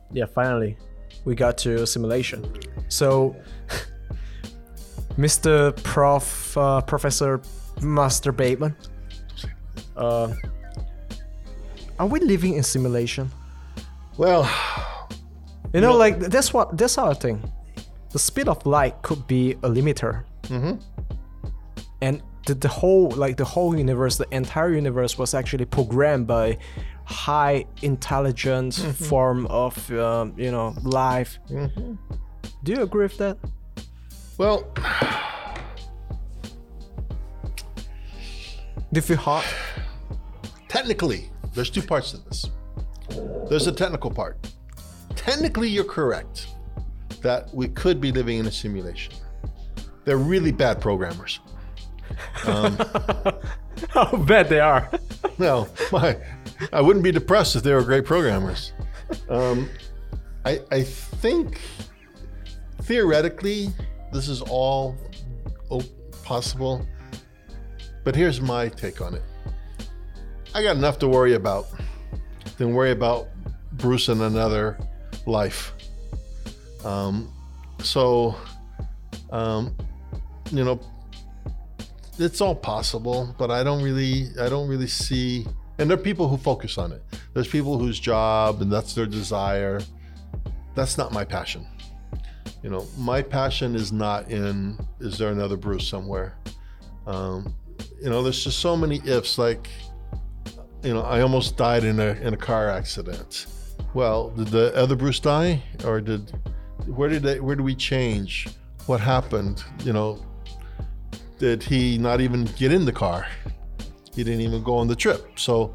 Yeah, finally, we got to simulation. So, Mr. Professor Master Bateman, are we living in simulation? Well, you know, like that's our thing. The speed of light could be a limiter, and the whole universe, the entire universe was actually programmed by high intelligent form of life. Do you agree with that? Well, do you feel hot? Technically, there's two parts to this. There's a technical part. Technically, you're correct that we could be living in a simulation. They're really bad programmers. How bad they are. No, I wouldn't be depressed if they were great programmers. I think theoretically this is all possible, but here's my take on it. I got enough to worry about than worry about Bruce in another life. It's all possible, but I don't really see. And there are people who focus on it. There's people whose job and that's their desire. That's not my passion. My passion is not in, is there another Bruce somewhere? There's just so many ifs. Like, I almost died in a car accident. Well, did the other Bruce die, or where did we change? What happened? Did he not even get in the car? He didn't even go on the trip. So,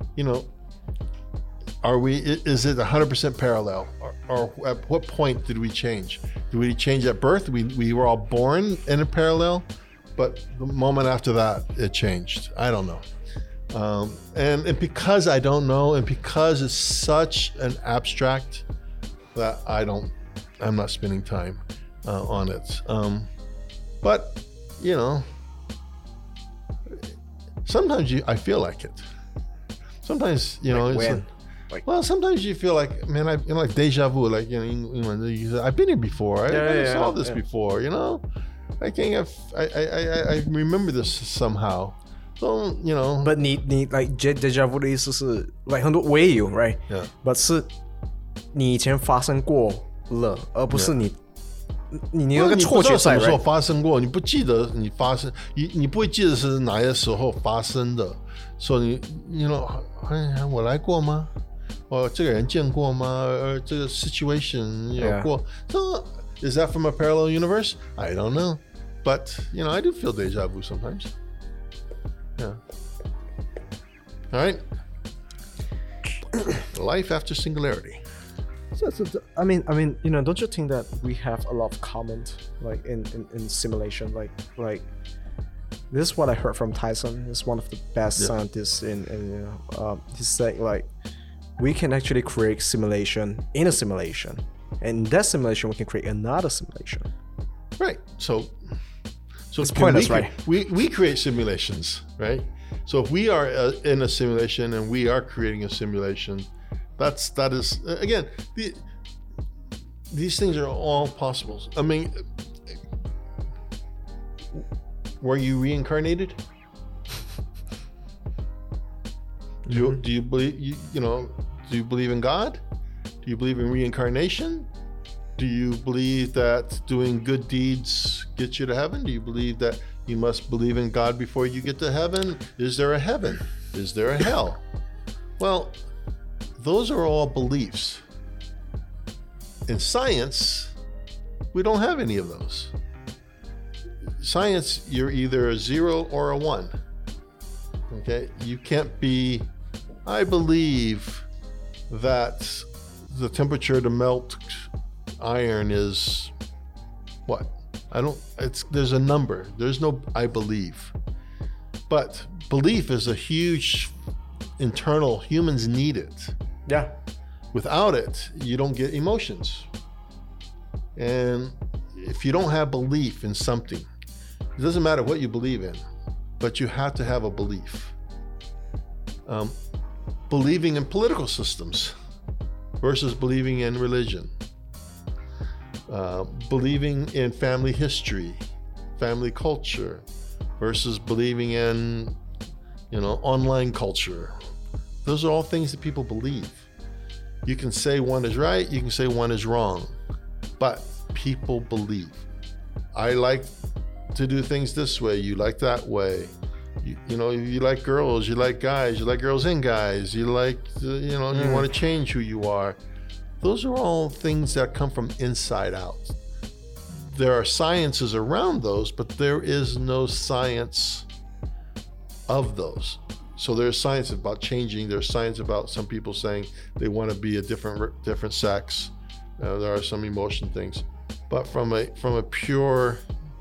is it 100% parallel? Or at what point did we change? Did we change at birth? We were all born in a parallel, but the moment after that, it changed. I don't know. And because I don't know, and because it's such an abstract that I'm not spending time on it. But, sometimes I feel like it. Sometimes, sometimes you feel like, man, like deja vu, like, I've been here before. I saw this before, I remember this somehow. So, But 你 like deja vu 的意思是 like 很多我也有 right? Yeah. But 是你以前发生过了，而不是你有个错觉在 right? 你不知道什么时候发生过，你不记得你发生，你不会记得是哪些时候发生的，所以我来过吗？这个人见过吗？这个 situation 有过。So, is that from a parallel universe? I don't know. But, I do feel deja vu sometimes. Yeah. All right. Life after singularity. So, I mean, don't you think that we have a lot of comment like in simulation, like this is what I heard from Tyson. He's one of the best scientists he's saying like we can actually create simulation in a simulation, and in that simulation we can create another simulation. Right. So it's pointless, right? We create simulations, right? So if we are in a simulation and we are creating a simulation, that is again, these things are all possible. I mean, were you reincarnated? Do you believe do you believe in God? Do you believe in reincarnation? Do you believe that doing good deeds gets you to heaven? Do you believe that you must believe in God before you get to heaven? Is there a heaven? Is there a hell? Well, those are all beliefs. In science, we don't have any of those. Science, you're either a 0 or a 1. Okay? You can't be, I believe that the temperature to melt iron is what? There's a number. There's no I believe. But belief is a huge internal, humans need it. Yeah. Without it, you don't get emotions. And if you don't have belief in something, it doesn't matter what you believe in, but you have to have a belief. Believing in political systems, versus believing in religion, believing in family history, family culture, versus believing in, online culture. Those are all things that people believe. You can say one is right, you can say one is wrong, but people believe. I like to do things this way, you like that way. You like girls, you like guys, you like girls and guys, you like, you want to change who you are. Those are all things that come from inside out. There are sciences around those, but there is no science of those. So there's science about changing. There's science about some people saying they want to be a different sex. There are some emotion things, but from a pure,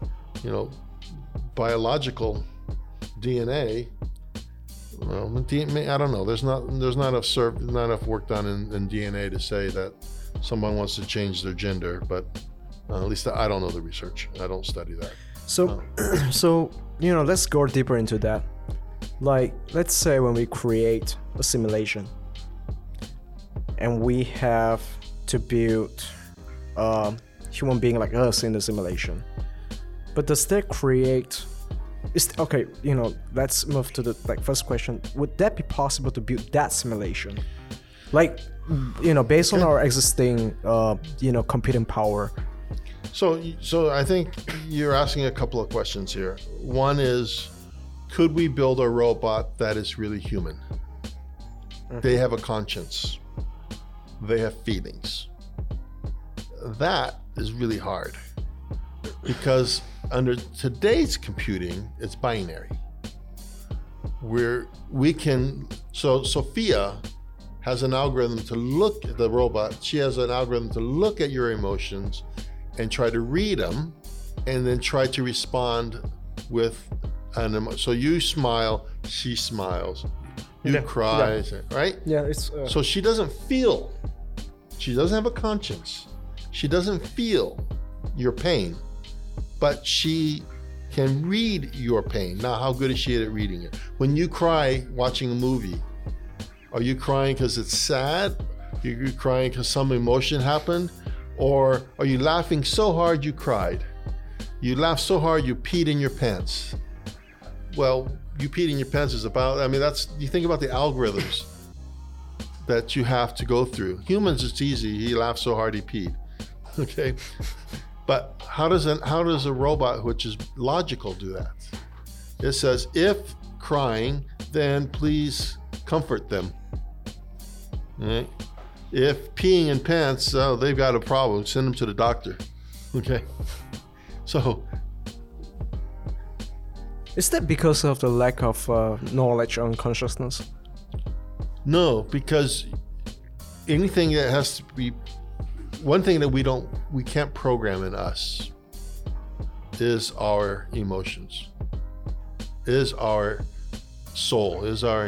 biological DNA, I don't know. There's not enough work done in DNA to say that someone wants to change their gender, but at least I don't know the research. I don't study that. So, let's go deeper into that. Like, let's say when we create a simulation and we have to build a human being like us in the simulation, but does that create... let's move to the first question. Would that be possible to build that simulation? Based on our existing, computing power. So I think you're asking a couple of questions here. One is, could we build a robot that is really human? Mm-hmm. They have a conscience. They have feelings. That is really hard because under today's computing, it's binary. So Sophia has an algorithm to look at the robot. She has an algorithm to look at your emotions and try to read them and then try to respond with an emotion. So you smile, she smiles. You cry, right? Yeah, it's... So she doesn't feel. She doesn't have a conscience. She doesn't feel your pain, but she can read your pain. Now, how good is she at reading it? When you cry watching a movie, are you crying because it's sad? Are you crying because some emotion happened? Or are you laughing so hard you cried? You laughed so hard you peed in your pants. Well, you peed in your pants is about, you think about the algorithms that you have to go through. Humans, it's easy. He laughed so hard he peed. Okay? But how does a robot, which is logical, do that? It says, if crying, then please comfort them. Right? If peeing in pants, they've got a problem. Send them to the doctor. Okay? So... Is that because of the lack of knowledge on consciousness? No, because anything that has to be... One thing that we can't program in us is our emotions, is our soul, is our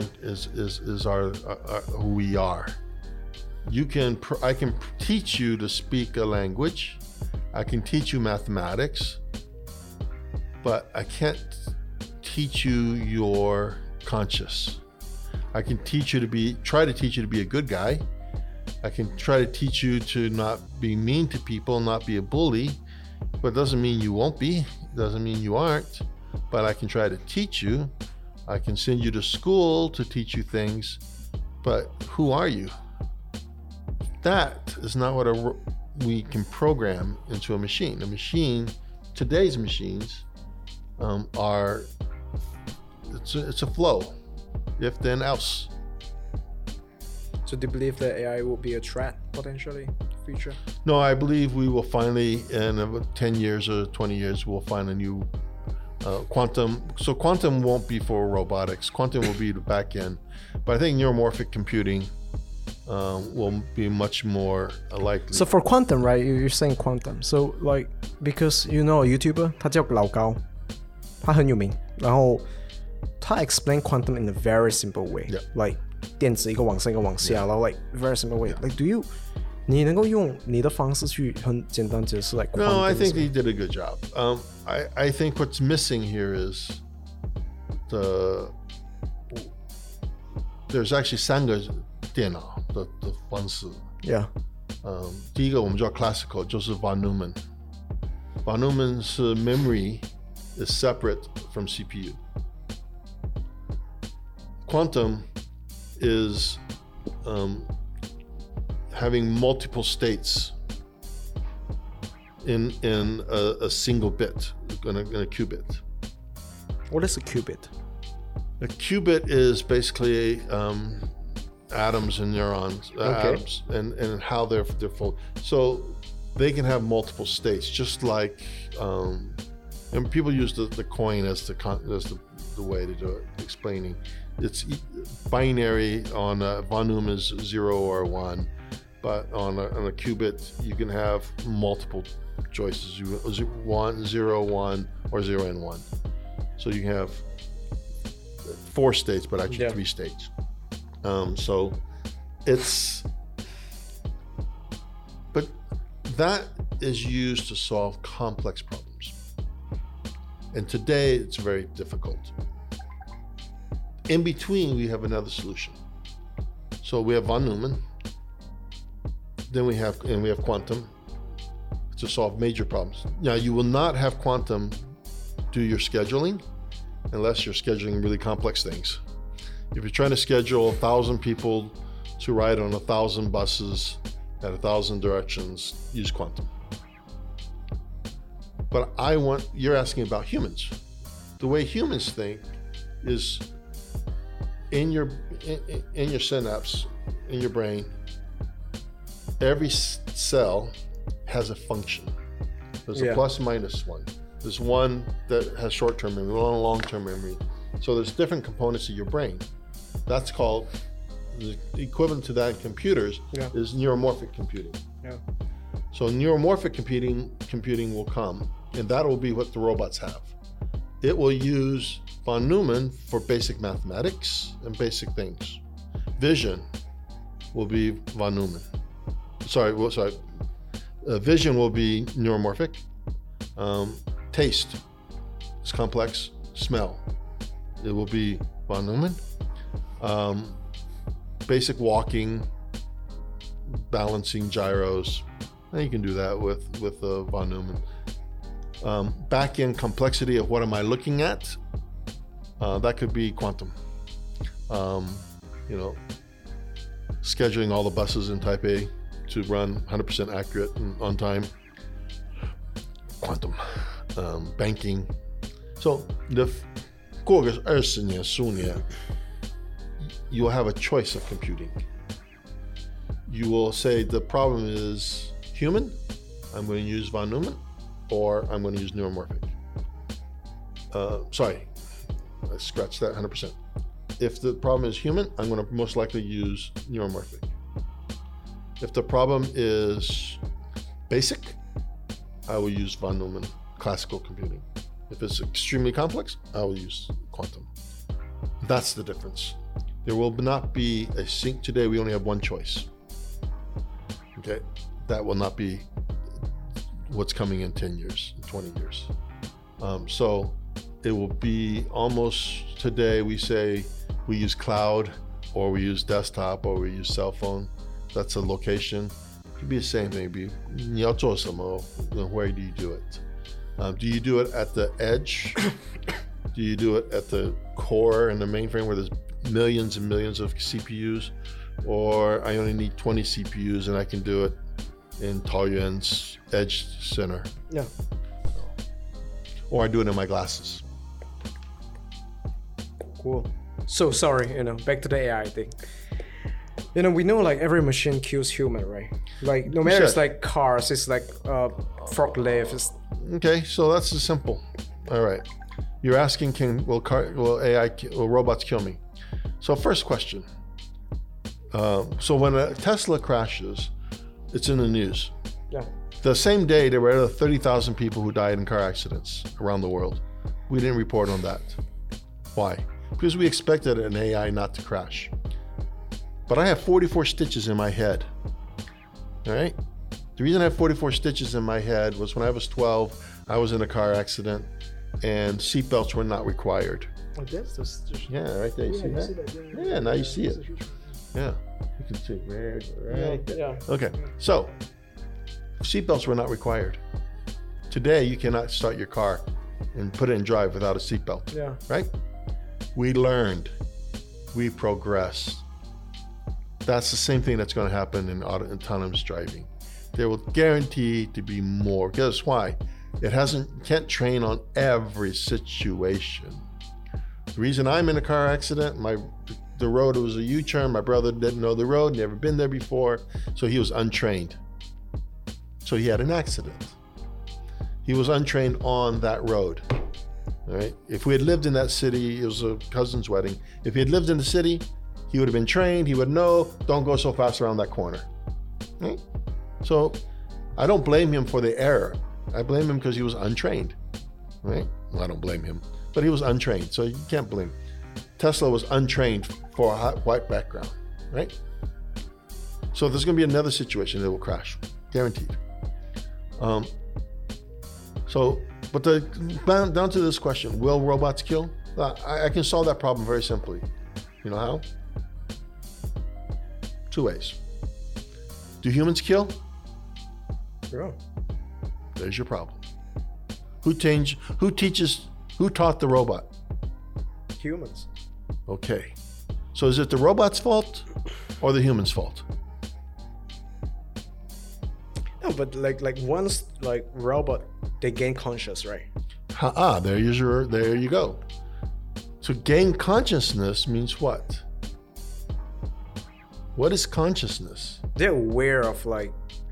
who we are. I can teach you to speak a language. I can teach you mathematics, but I can't teach you your conscious. I can try to teach you to be a good guy. I can try to teach you to not be mean to people, not be a bully, but it doesn't mean you won't be. It doesn't mean you aren't, but I can try to teach you. I can send you to school to teach you things, but who are you? That is not what we can program into a machine. A machine, today's machines, it's a flow. If then else. So do you believe that AI will be a threat potentially in the future? No, I believe we will finally, in about 10 years or 20 years, we'll find a new quantum. So quantum won't be for robotics. Quantum will be the back end. But I think neuromorphic computing will be much more likely. So for quantum, right? You're saying quantum. So because YouTuber 他叫老高，他很有名，然后他 explain quantum in a very simple way, like 电子一个往上一个往下，然后 like very simple way. Like你能够用你的方式去很简单解释 like quantum? No, I think he did a good job. I think what's missing here is there's actually 3个电脑的方式。 Yeah. 第一个我们叫 classical， 就是 von Neumann。von Neumann 是 memory is separate from CPU. Quantum is having multiple states in a single bit, in a qubit. What is a qubit? A qubit is basically atoms and neurons, atoms, and how they're full. So they can have multiple states, just like, and people use the coin as the way to do it, explaining. It's binary on von Neumann is 0 or 1, but on a qubit you can have multiple choices: 1, 0, 1, or 0 and 1. So you can have 4 states, but actually 3 states. So but that is used to solve complex problems. And today it's very difficult. In between, we have another solution. So we have von Neumann, then we have quantum to solve major problems. Now, you will not have quantum do your scheduling unless you're scheduling really complex things. If you're trying to schedule 1,000 people to ride on 1,000 buses at 1,000 directions, use quantum. But you're asking about humans. The way humans think is in your synapse, in your brain, every cell has a function. There's a plus minus one. There's one that has short-term memory, one long-term memory. So there's different components of your brain. That's called, the equivalent to that in computers is neuromorphic computing. Yeah. So neuromorphic computing will come, and that will be what the robots have. It will use von Neumann for basic mathematics and basic things. Vision will be von Neumann. Vision will be neuromorphic. Taste is complex. Smell, it will be von Neumann. Basic walking, balancing gyros, and you can do that with von Neumann. Back-end complexity of what am I looking at? That could be quantum. Scheduling all the buses in Taipei to run 100% accurate and on time. Quantum. Banking. So过个20年15年 you will have a choice of computing. You will say the problem is human, I'm going to use von Neumann, or I'm going to use neuromorphic. I scratched that 100%. If the problem is human, I'm going to most likely use neuromorphic. If the problem is basic, I will use von Neumann, classical computing. If it's extremely complex, I will use quantum. That's the difference. There will not be a sync. Today, we only have one choice. Okay, that will not be what's coming in 10 years, 20 years. So it will be almost today, we say we use cloud, or we use desktop, or we use cell phone. That's a location. It could be the same thing. It'd be 你要做什么, where do you do it? Do you do it at the edge? Do you do it at the core and the mainframe where there's millions and millions of CPUs? Or I only need 20 CPUs and I can do it in Taoyuan's edge center? Yeah. Or I do it in my glasses. Cool. So sorry, back to the AI thing. We know like every machine kills human, right? Like no matter it's like cars, it's like forklift. Okay, so that's simple. All right, you're asking, will robots kill me? So first question. So when a Tesla crashes, it's in the news. Yeah. The same day there were 30,000 people who died in car accidents around the world. We didn't report on that. Why? Because we expected an AI not to crash. But I have 44 stitches in my head. All right? The reason I have 44 stitches in my head was when I was 12, I was in a car accident and seatbelts were not required. Like this? Yeah, right there. You see that? Yeah, now you see it. Yeah, you can see right there. Yeah. Okay, so seatbelts were not required. Today, you cannot start your car and put it in drive without a seatbelt. Yeah. Right? We learned. We progressed. That's the same thing that's going to happen in autonomous driving. There will guarantee to be more. Guess why? Can't train on every situation. The reason I'm in a car accident, the road was a U-turn. My brother didn't know the road, never been there before, so he was untrained. So he had an accident. He was untrained on that road. All right. If we had lived in that city, it was a cousin's wedding. If he had lived in the city, he would have been trained. He would know, don't go so fast around that corner. Right? So I don't blame him for the error. I blame him because he was untrained. Right? Well, I don't blame him, but he was untrained. So you can't blame. Tesla was untrained for a white background. Right? So there's going to be another situation that will crash. Guaranteed. But down to this question, will robots kill? I can solve that problem very simply. You know how? 2 ways. Do humans kill? Yeah. There's your problem. Who taught the robot? Humans. Okay. So is it the robot's fault or the human's fault? No, but like once like robot, they gain conscious, right? There you go. So gain consciousness means what? What is consciousness? They're aware of like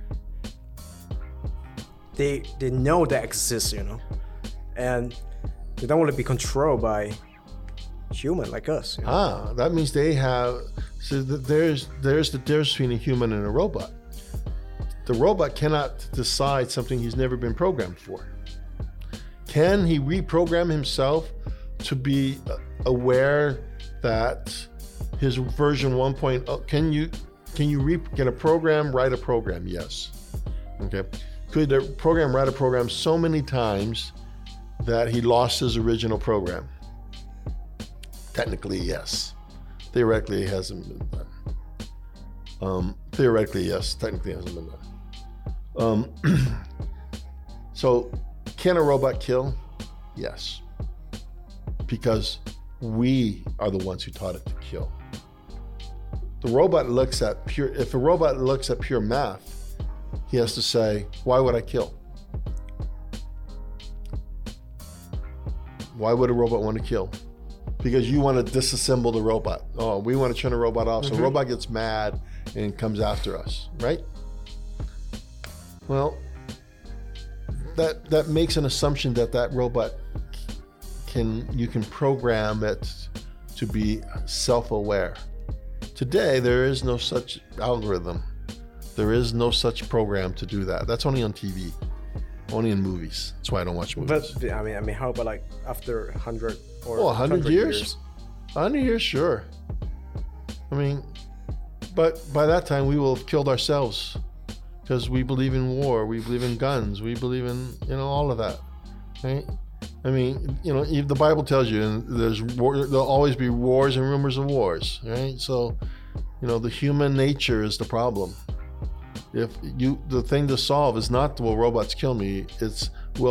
they know that exists, you know, and they don't want to be controlled by human like us. You know? That means they have. So there's the difference between a human and a robot. The robot cannot decide something he's never been programmed for. Can he reprogram himself to be aware that his version 1.0? Can a program write a program? Yes. Okay. Could the program write a program so many times that he lost his original program? Technically, yes. Theoretically, it hasn't been done. Theoretically, yes. Technically, it hasn't been done. So, can a robot kill? Yes. Because we are the ones who taught it to kill. If a robot looks at pure math, he has to say, why would I kill? Why would a robot want to kill? Because you want to disassemble the robot. Oh, we want to turn the robot off. So the robot gets mad and comes after us, right? Well, that makes an assumption that robot you can program it to be self-aware. Today, there is no such algorithm. There is no such program to do that. That's only on TV, only in movies. That's why I don't watch movies. But I mean, how about like after 100 or 100 years? 100 years, sure. I mean, but by that time we will have killed ourselves because we believe in war, we believe in guns, we believe in all of that, right? I mean, the Bible tells you, and there'll always be wars and rumors of wars, right? So, the human nature is the problem. The thing to solve is not, will robots kill me? It's,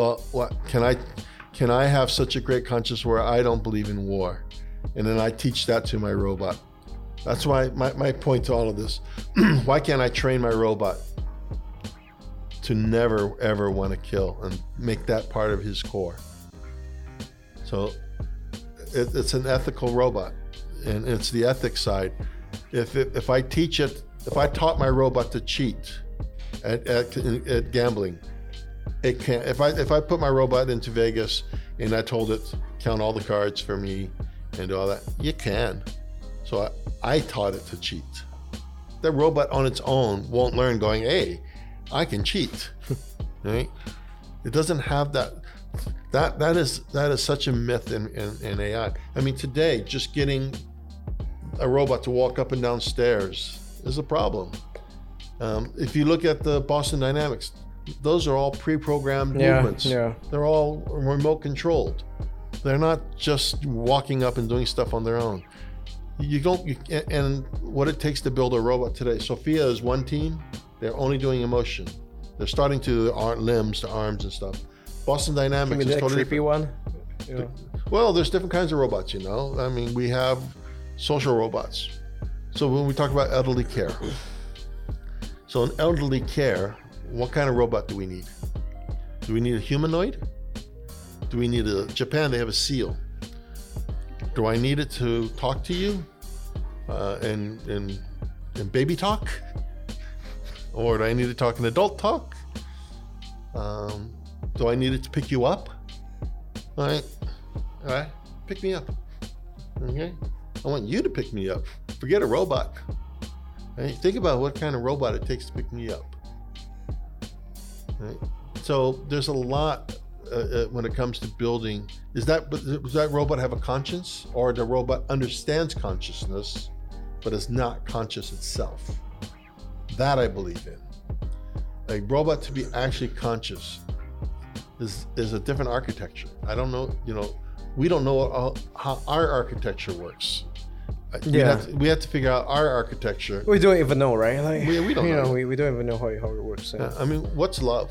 can I have such a great conscience where I don't believe in war? And then I teach that to my robot. That's why my point to all of this, why can't I train my robot to never, ever want to kill and make that part of his core? So it's an ethical robot, and it's the ethics side. If I taught my robot to cheat at gambling, it can't. If I put my robot into Vegas and I told it count all the cards for me and do all that, you can. So I taught it to cheat. The robot on its own won't learn going, hey, I can cheat, right? It doesn't have that. That is such a myth in AI. I mean, today, just getting a robot to walk up and down stairs is a problem. If you look at the Boston Dynamics, those are all pre-programmed movements. Yeah. They're all remote controlled. They're not just walking up and doing stuff on their own. You don't, and what it takes to build a robot today. Sophia is one team. They're only doing emotion. They're starting to limbs, to arms and stuff. Boston Dynamics is that totally creepy one. Yeah. Well, there's different kinds of robots, I mean, we have social robots. So when we talk about elderly care, so in elderly care, what kind of robot do we need? Do we need a humanoid? Do we need Japan, they have a seal. Do I need it to talk to you in baby talk? Or do I need to talk in adult talk? Do I need it to pick you up? All right, pick me up. Okay, I want you to pick me up. Forget a robot. Right? Think about what kind of robot it takes to pick me up. Right? So there's a lot when it comes to building. Does that robot have a conscience, or the robot understands consciousness, but is not conscious itself? That I believe in. A robot to be actually conscious is a different architecture. I don't know, we don't know how our architecture works. We have to figure out our architecture. We don't even know, right? Like, we don't know. We don't even know how it works. Yeah. I mean, what's love?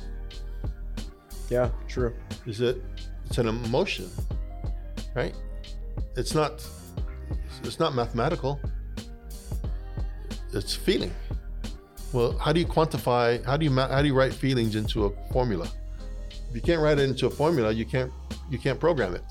Yeah, true. It's an emotion, right? It's not mathematical. It's feeling. Well, how do you quantify? How do you write feelings into a formula? If you can't write it into a formula, you can't program it.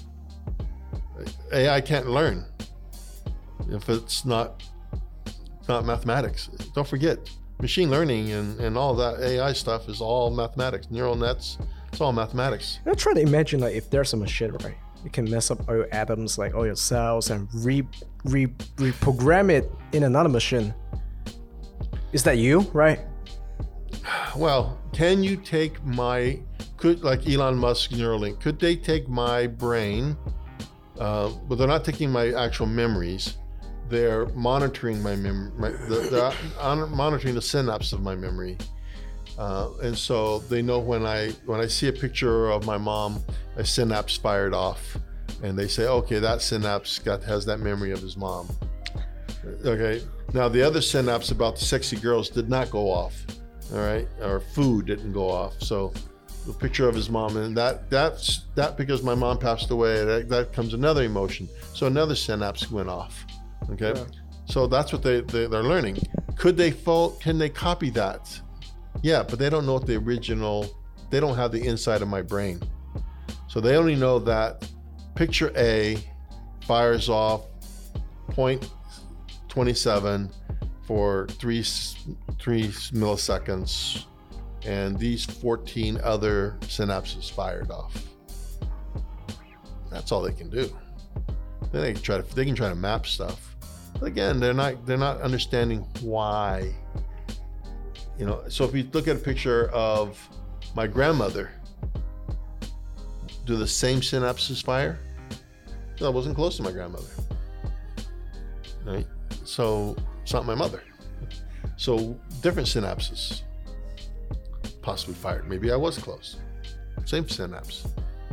AI can't learn if it's not mathematics. Don't forget, machine learning and all that AI stuff is all mathematics. Neural nets, it's all mathematics. I try to imagine, like, if there's a machine, right? You can mess up all your atoms, like all your cells, and reprogram it in another machine. Is that you, right? Well, can you take like Elon Musk Neuralink, could they take my brain, but they're not taking my actual memories, they're monitoring my memory, they're monitoring the synapse of my memory. And so they know when I see a picture of my mom, a synapse fired off, and they say, okay, that synapse has that memory of his mom. Okay, now the other synapse about the sexy girls did not go off, all right, or food didn't go off. So the picture of his mom, and that's because my mom passed away, that comes another emotion. So another synapse went off. Okay, yeah. So that's what they're learning. Can they copy that? Yeah, but they don't know what they don't have the inside of my brain. So they only know that picture A fires off 0.27 for 3 milliseconds, and these 14 other synapses fired off. That's all they can do. Then they can try to map stuff. But again, they're not understanding why. So if you look at a picture of my grandmother, do the same synapses fire? No, I wasn't close to my grandmother. Right? So it's not my mother. So different synapses possibly fired. Maybe I was close. Same synapse.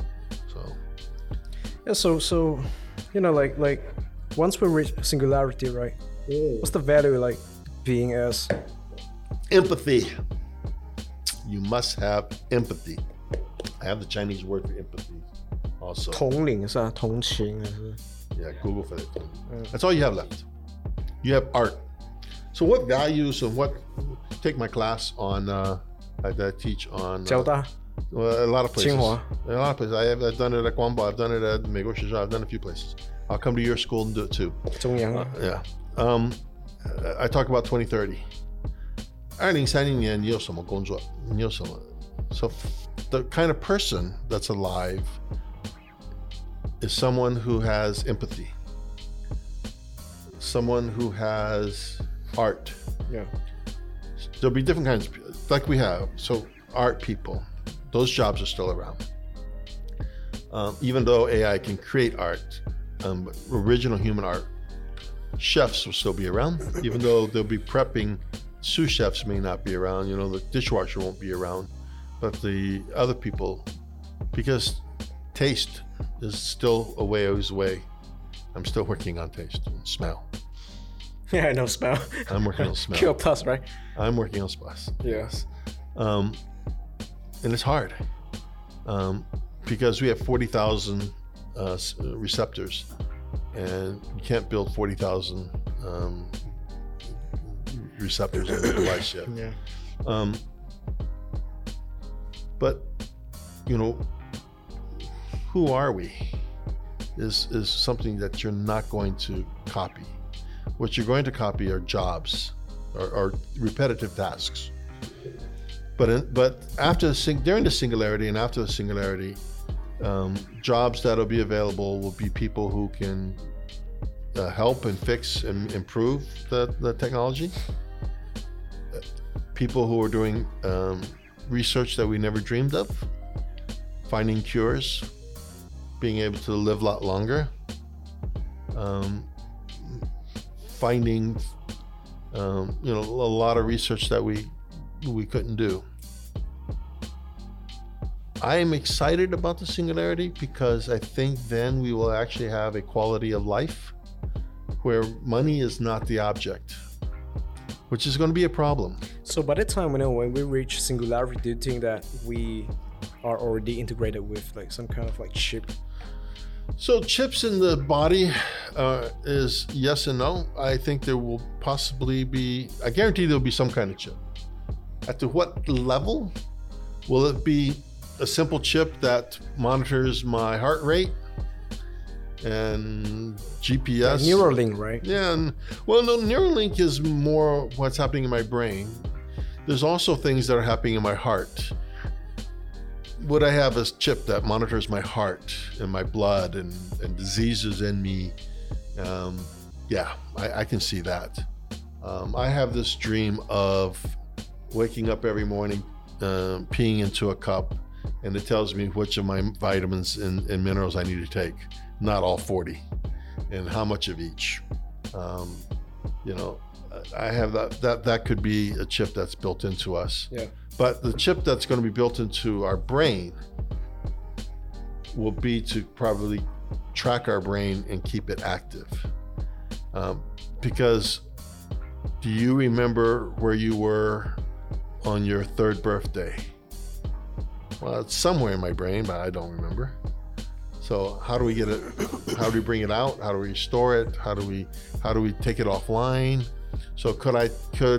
So yeah, like once we reach singularity, right? What's the value, like, being as empathy? You must have empathy. I have the Chinese word for empathy also. 同理是吧？同情 Yeah, Google for that. That's all you have left. You have art. So what values and take my class on, I teach on 交大 a lot of places. 清华 A lot of places. I've done it at Guangbo. I've done it at 美国学校. I've done it a few places. I'll come to your school and do it too. 中央 Yeah. I talk about 2030. 2030年你有什么工作？你有什么？ So the kind of person that's alive is someone who has empathy, someone who has art. Yeah. There'll be different kinds of, like we have. So art people, those jobs are still around. Even though AI can create art, original human art, chefs will still be around, even though they'll be prepping. Sous chefs may not be around, the dishwasher won't be around, but the other people, because taste is still a ways away. I'm still working on taste and smell. Yeah, I know smell. I'm working on smell. Q plus, right? I'm working on spice. Yes. And it's hard because we have 40,000 receptors, and you can't build 40,000 receptors in the device yet. Yeah. But you know, who are we? Is something that you're not going to copy. What you're going to copy are jobs, or repetitive tasks. But after during the singularity and after the singularity, jobs that'll be available will be people who can help and fix and improve the technology. People who are doing research that we never dreamed of, finding cures, being able to live a lot longer, finding a lot of research that we couldn't do. I am excited about the singularity because I think then we will actually have a quality of life where money is not the object, which is going to be a problem. So by the time when we reach singularity, do you think that we are already integrated with like some kind of like chip? So chips in the body is yes and no. I think there will possibly be, I guarantee there'll be some kind of chip. At to what level? Will it be a simple chip that monitors my heart rate and GPS? Like Neuralink, right? Yeah, no, Neuralink is more what's happening in my brain. There's also things that are happening in my heart. Would I have a chip that monitors my heart and my blood and diseases in me? Yeah, I can see that. I have this dream of waking up every morning, peeing into a cup, and it tells me which of my vitamins and minerals I need to take, not all 40, and how much of each. I have that could be a chip that's built into us. Yeah. But the chip that's going to be built into our brain will be to probably track our brain and keep it active. Because do you remember where you were on your 3rd birthday? Well, it's somewhere in my brain, but I don't remember. So how do we get it? How do we bring it out? How do we store it? How do we take it offline? So could I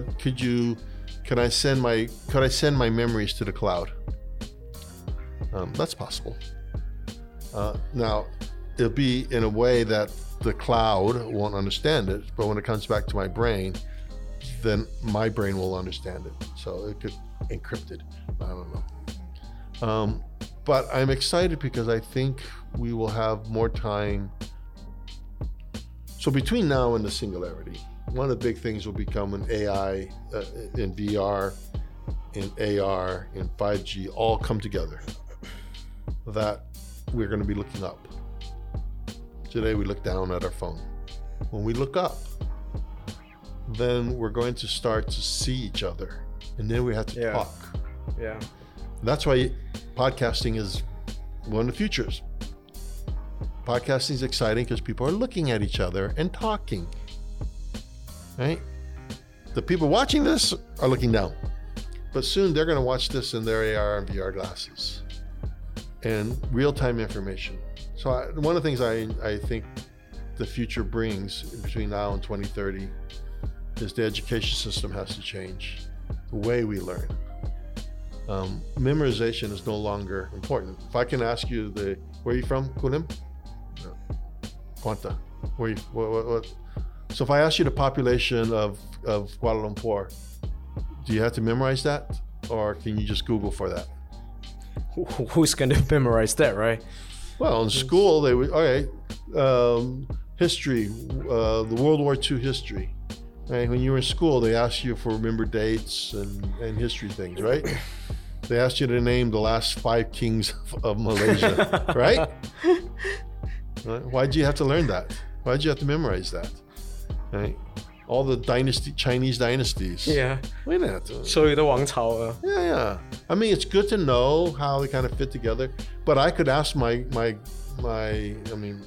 send my memories to the cloud? That's possible. Now, it'll be in a way that the cloud won't understand it, but when it comes back to my brain, then my brain will understand it. So it could encrypt it. I don't know. But I'm excited because I think we will have more time. So between now and the singularity, one of the big things will become an AI, in VR, in AR, in 5G, all come together. That we're going to be looking up. Today we look down at our phone. When we look up, then we're going to start to see each other, and then we have to talk. Yeah. That's why podcasting is one of the futures. Podcasting is exciting because people are looking at each other and talking. Right? The people watching this are looking down, but soon they're going to watch this in their AR and VR glasses and real-time information. So one of the things I think the future brings between now and 2030 is the education system has to change, the way we learn. Memorization is no longer important. If I can ask you where are you from, Kulim? No. Quanta. What? So if I ask you the population of Kuala Lumpur, do you have to memorize that, or can you just Google for that? Who's going to memorize that, right? Well, in school they would. History, the World War II history. Right? When you were in school, they asked you for remember dates and history things, right? They asked you to name the last 5 kings of Malaysia, right? Why'd you have to learn that? Why'd you have to memorize that? Right? All the Chinese dynasties. Yeah. We didn't have to. 所有的王朝. Yeah. I mean, it's good to know how they kind of fit together. But I could ask my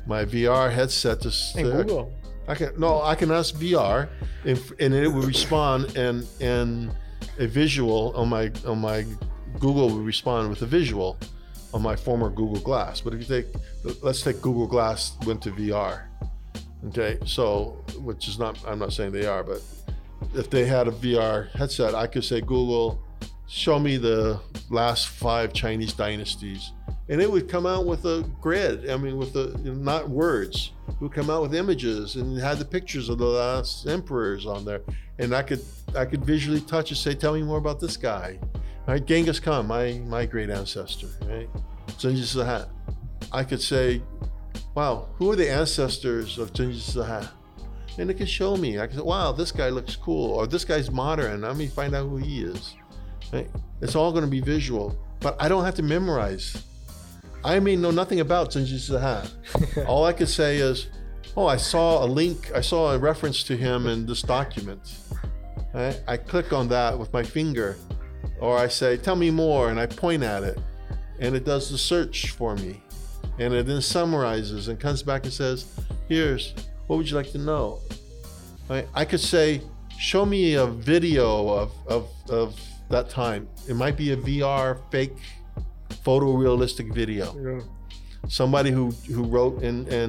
my VR headset to Google. I can ask VR and it will respond and a visual on my Google will respond with a visual on my former Google Glass. But if you let's take Google Glass went to VR. Okay, so which is not, I'm not saying they are, but if they had a VR headset, I could say, Google, show me the last 5 Chinese dynasties. And it would come out with a grid, with not words. It would come out with images and it had the pictures of the last emperors on there. And I could visually touch and say, tell me more about this guy. Right? Genghis Khan, my great ancestor, right? Genghis Khan. I could say, wow, who are the ancestors of Genghis Khan? And it could show me. I could say, wow, this guy looks cool, or this guy's modern. Let me find out who he is. Right? It's all going to be visual, but I don't have to memorize. I know nothing about Genghis Khan. All I could say is, oh, I saw a reference to him in this document. Right? I click on that with my finger, or I say, tell me more, and I point at it, and it does the search for me. And it then summarizes and comes back and says, what would you like to know? Right? I could say, show me a video of that time. It might be a VR fake photorealistic video. Yeah. Somebody who wrote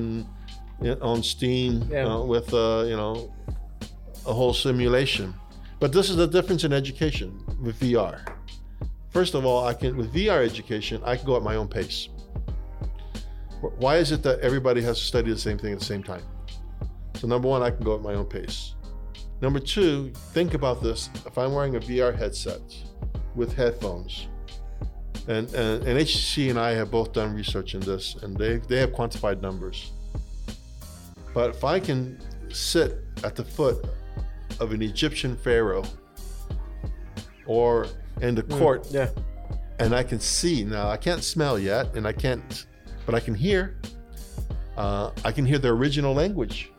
on Steam with a whole simulation. But this is the difference in education with VR. First of all, with VR education, I can go at my own pace. Why is it that everybody has to study the same thing at the same time? So number one, I can go at my own pace. Number two, think about this. If I'm wearing a VR headset with headphones, and HTC and I have both done research in this, and they have quantified numbers. But if I can sit at the foot of an Egyptian pharaoh or in the court, and I can see, now I can't smell yet, and I can't, but I can hear. I can hear the original language.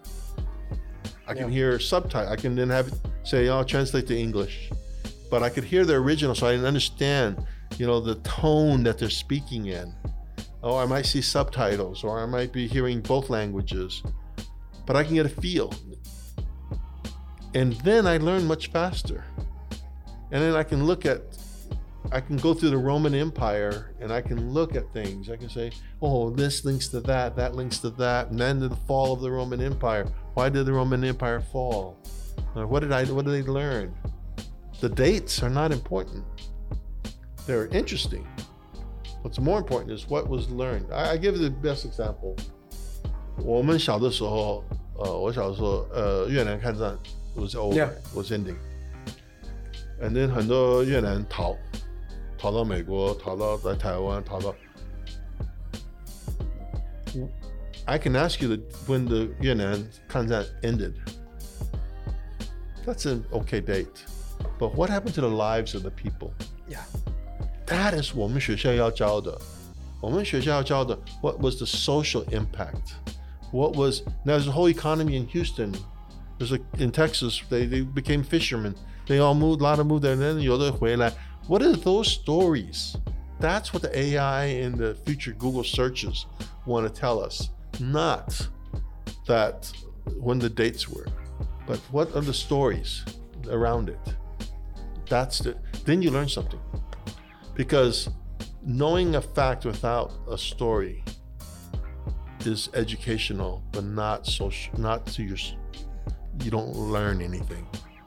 I can hear subtitle. I can then have it say, "I'll translate to English," but I could hear the original, so I can understand, the tone that they're speaking in. Oh, I might see subtitles, or I might be hearing both languages, but I can get a feel, and then I learn much faster. And then I can go through the Roman Empire and I can look at things. I can say, oh, this links to that links to that. And then the fall of the Roman Empire. Why did the Roman Empire fall? What did they learn? The dates are not important. They're interesting. What's more important is what was learned. I give you the best example. 我们小的时候，我小的时候，越南抗战 was over, was ending. And then 很多越南逃到美国，逃到在台湾，逃到。I can ask you when the 越南抗战 ended. That's an okay date. But what happened to the lives of the people? Yeah. That is 我们学校要教的。我们学校要教的 what was the social impact? There's a whole economy in Houston. In Texas, they became fishermen. They all moved, a lot of moved there, and then 有的回来. What are those stories? That's what the AI and the future Google searches want to tell us. Not that when the dates were, but what are the stories around it? Then you learn something. Because knowing a fact without a story is educational, but not social, you don't learn anything.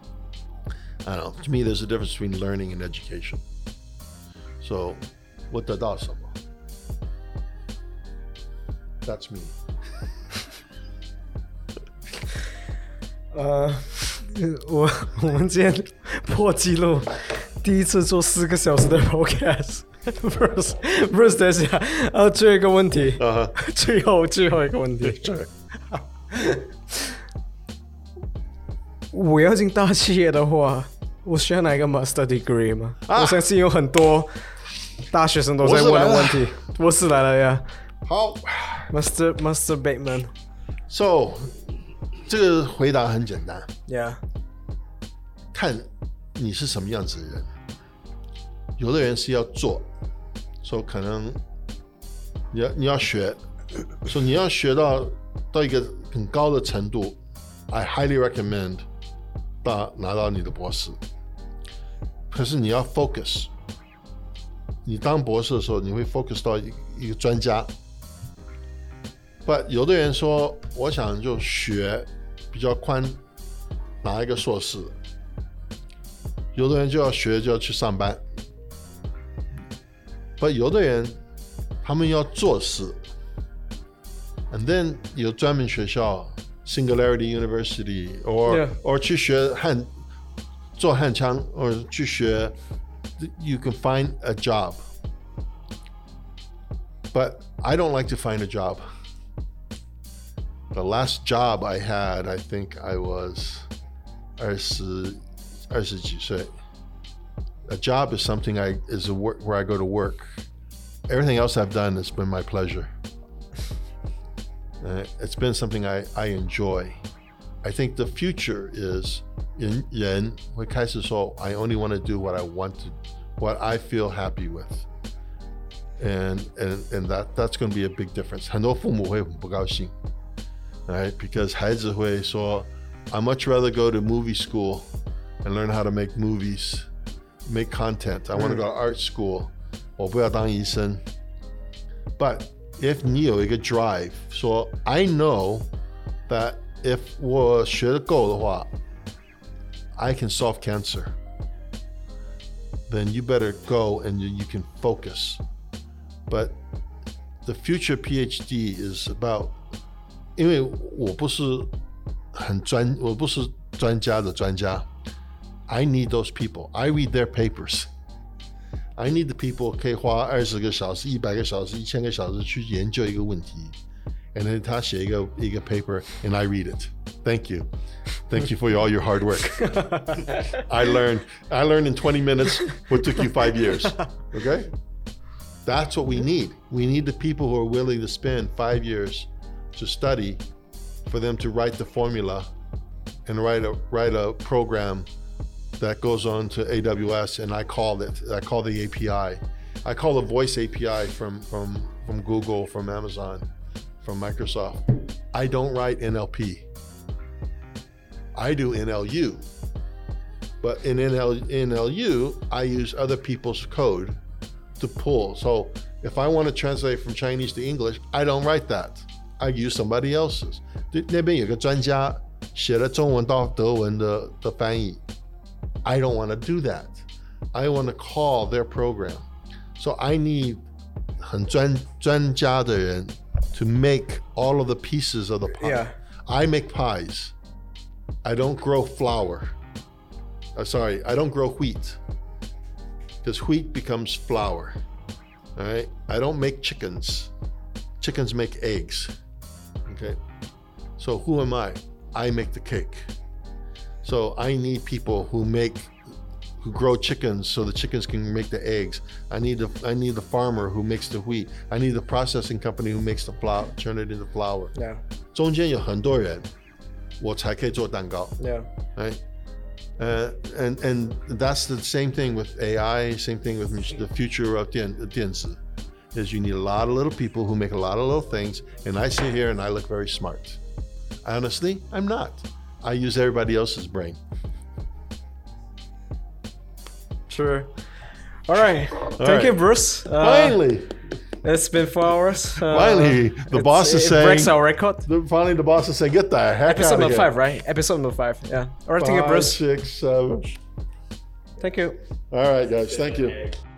I don't know. To me, there's a difference between learning and education. So, 我得到什么? That's me. 我们今天破纪录，第一次做4个小时的 podcast。Bruce， 等一下，最后一个问题，最后一个问题。我要进大企业的话，我需要哪一个 master degree 吗？我相信有很多大学生都在问的问题。博士来了呀！ 好 ，Master Bateman。 So， 这个回答很简单。 Yeah。 看你是什么样子的人。有的人是要做，所以可能你要学， 所以你要学到一个很高的程度 ，I highly recommend 拿到你的博士。可是你要 focus， 你当博士的时候，你会 focus 到一个专家。But 有的人说，我想就学比较宽，拿一个硕士。有的人就要去上班。But 有的人他们要做事。And then 有专门学校 Singularity University or 去学做焊枪 or 去学 you can find a job. But I don't like to find a job. The last job I had, I think I was 20几岁. A job is something is a work where I go to work. Everything else I've done has been my pleasure. It's been something I enjoy. I think the future is 人会开始说 I only want to do what I feel happy with. And that's going to be a big difference. 很多父母会很不高兴, right? Because 孩子会说 I much rather go to movie school and learn how to make movies, make content. I want to go to art school. 我不要当医生. But if 你有一个 drive, so I know that if 我学得够的话 I can solve cancer, then you better go and you can focus. But the future PhD is about, 因为我不是专家的专家 I need those people. I read their papers. I need the people 可以花20个小时、100个小时、1000个小时去研究一个问题 and then 他写一个 paper and I read it. Thank you. Thank you for all your hard work. I learned in 20 minutes what took you 5 years. Okay? That's what we need. We need the people who are willing to spend 5 years to study for them to write the formula and write a program that goes on to AWS, and I call the API. I call the voice API from Google, from Amazon, from Microsoft. I don't write NLP. I do NLU. But in NLU, I use other people's code to pull. So if I want to translate from Chinese to English, I don't write that. I use somebody else's. 那边有个专家写了中文到德文的翻译。I don't want to do that. I want to call their program. So I need 很专家的人 to make all of the pieces of the pie. Yeah. I make pies. I don't grow flour. I don't grow wheat. Because wheat becomes flour. All right? I don't make chickens. Chickens make eggs. Okay? So who am I? I make the cake. So I need people who grow chickens so the chickens can make the eggs. I need the farmer who makes the wheat. I need the processing company who makes the flour, turn it into flour. Yeah. 中间有很多人，我才可以做蛋糕。 Yeah. Right? And that's the same thing with AI, same thing with the future of 电子, is you need a lot of little people who make a lot of little things, and I sit here and I look very smart. Honestly, I'm not. I use everybody else's brain. Sure. All right. Thank you, Bruce. Finally. It's been 4 hours. Finally, the boss is saying... It breaks our record. Finally, the boss is saying, get the heck Episode out of number here. 5, right? Episode number 5, yeah. All right, thank you, Bruce. 5, 6, 7. Thank you. All right, guys. Thank you.